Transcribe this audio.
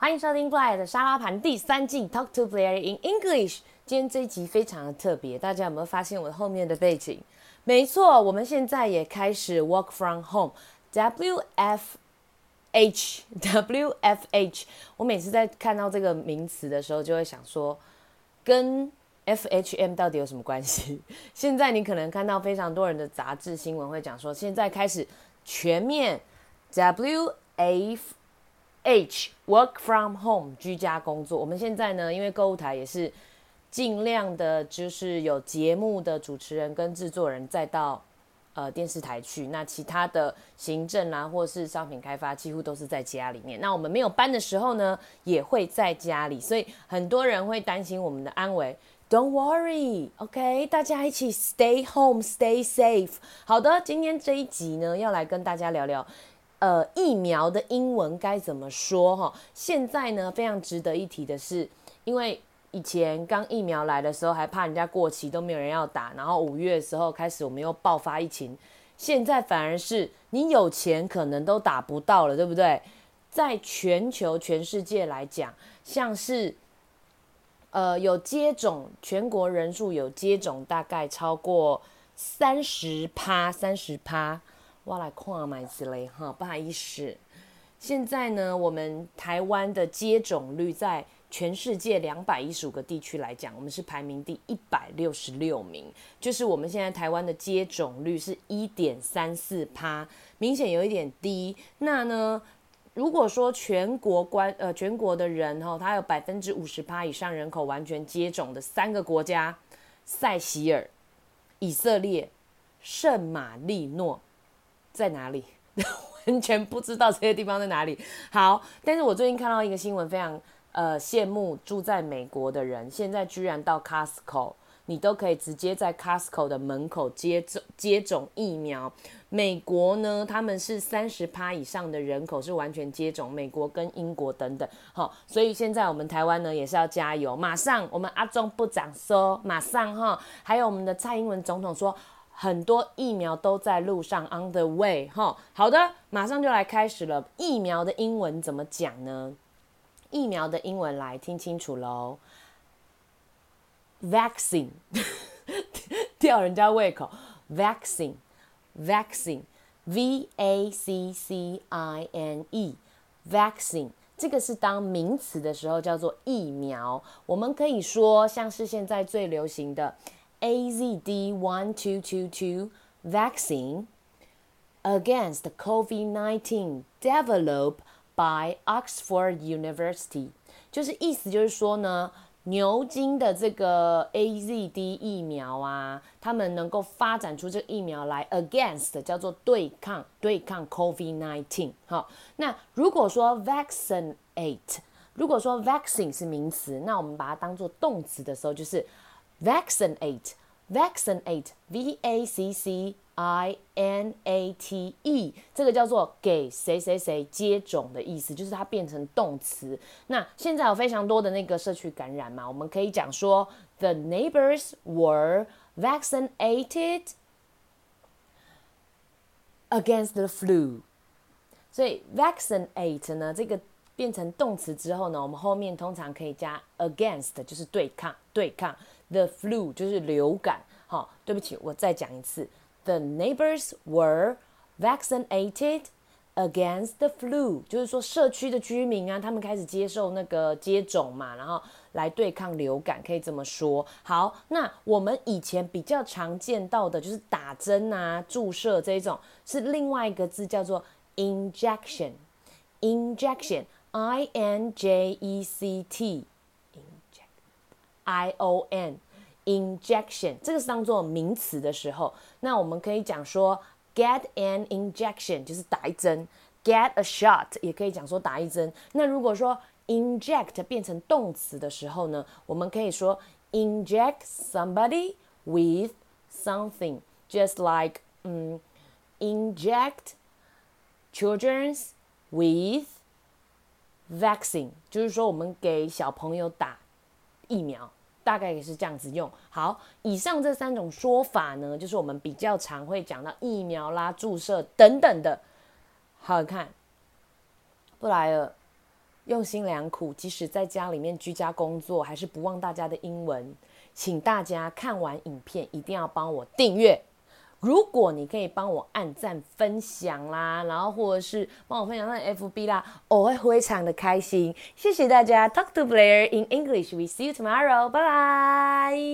欢迎收听布莱尔的沙拉盘第3季 Talk to Blair in English。今天这一集非常的特别，大家有没有发现我后面的背景？没错，我们现在也开始 work from home。WFH。我每次在看到这个名词的时候，就会想说，跟 FHM 到底有什么关系？现在你可能看到非常多人的杂志新闻会讲说，现在开始全面 WFH work from home 居家工作。我们现在呢，因为购物台也是尽量的，就是有节目的主持人跟制作人再到电视台去，那其他的行政啊或是商品开发几乎都是在家里面。那我们没有班的时候呢，也会在家里，所以很多人会担心我们的安危。Don't worry, OK， 大家一起 stay home, stay safe。好的，今天这一集呢，要来跟大家聊聊，疫苗的英文该怎么说哈？现在呢，非常值得一提的是，因为以前刚疫苗来的时候，还怕人家过期都没有人要打，然后5月的时候开始我们又爆发疫情，现在反而是你有钱可能都打不到了，对不对？在全球全世界来讲，像是有接种，全国人数有接种大概超过30%，我来看买之类哈，不好意思。现在呢，我们台湾的接种率在全世界215个地区来讲，我们是排名第166名，就是我们现在台湾的接种率是1.34%，明显有一点低。那呢，如果说全国的人他有50%以上人口完全接种的3个国家：塞西尔、以色列、圣马力诺，在哪里？完全不知道这些地方在哪里。好，但是我最近看到一个新闻，非常羡慕住在美国的人，现在居然到 Costco， 你都可以直接在 Costco 的门口接种疫苗。美国呢，他们是30%以上的人口是完全接种，美国跟英国等等。好，所以现在我们台湾呢也是要加油，马上我们阿中部长说，马上哈，还有我们的蔡英文总统说，很多疫苗都在路上 on the way 哈。好的，马上就来开始了。疫苗的英文怎么讲呢？疫苗的英文来听清楚咯。Vaccine 吊人家胃口。Vaccine V-A-C-C-I-N-E Vaccine 这个是当名词的时候叫做疫苗。我们可以说像是现在最流行的AZD1222 vaccine against COVID-19 developed by Oxford University， 就是意思就是说呢，牛津的这个 AZD 疫苗啊，他们能够发展出这个疫苗来 against 叫做对抗 COVID-19。 好，那如果说 vaccine 是名词，那我们把它当做动词的时候，就是 vaccinate V-A-C-C-I-N-A-T-E， 这个叫做给谁谁谁接种的意思，就是它变成动词。那现在有非常多的那个社区感染嘛，我们可以讲说 The neighbors were vaccinated against the flu。 所以 vaccinate 呢，这个变成动词之后呢，我们后面通常可以加 against， 就是对抗 the flu 就是流感。好，对不起，我再讲一次。The neighbors were vaccinated against the flu， 就是说社区的居民啊，他们开始接受那个接种嘛，然后来对抗流感，可以这么说。好，那我们以前比较常见到的就是打针啊、注射这种，是另外一个字叫做 injection I-N-J-E-C-T I-O-N injection， 这个是当做名词的时候，那我们可以讲说 get an injection 就是打一针， get a shot 也可以讲说打一针。那如果说 inject 变成动词的时候呢，我们可以说 inject somebody with something， just like inject children with vaccine， 就是说我们给小朋友打疫苗，大概也是这样子用。好，以上这3种说法呢，就是我们比较常会讲到疫苗啦、注射等等的。好看，布莱尔用心良苦，即使在家里面居家工作，还是不忘大家的英文。请大家看完影片一定要帮我订阅。如果你可以帮我按赞分享啦，然后或者是帮我分享到 FB 啦，我会非常的开心。谢谢大家 ，Talk to Blair in English. We see you tomorrow. Bye bye.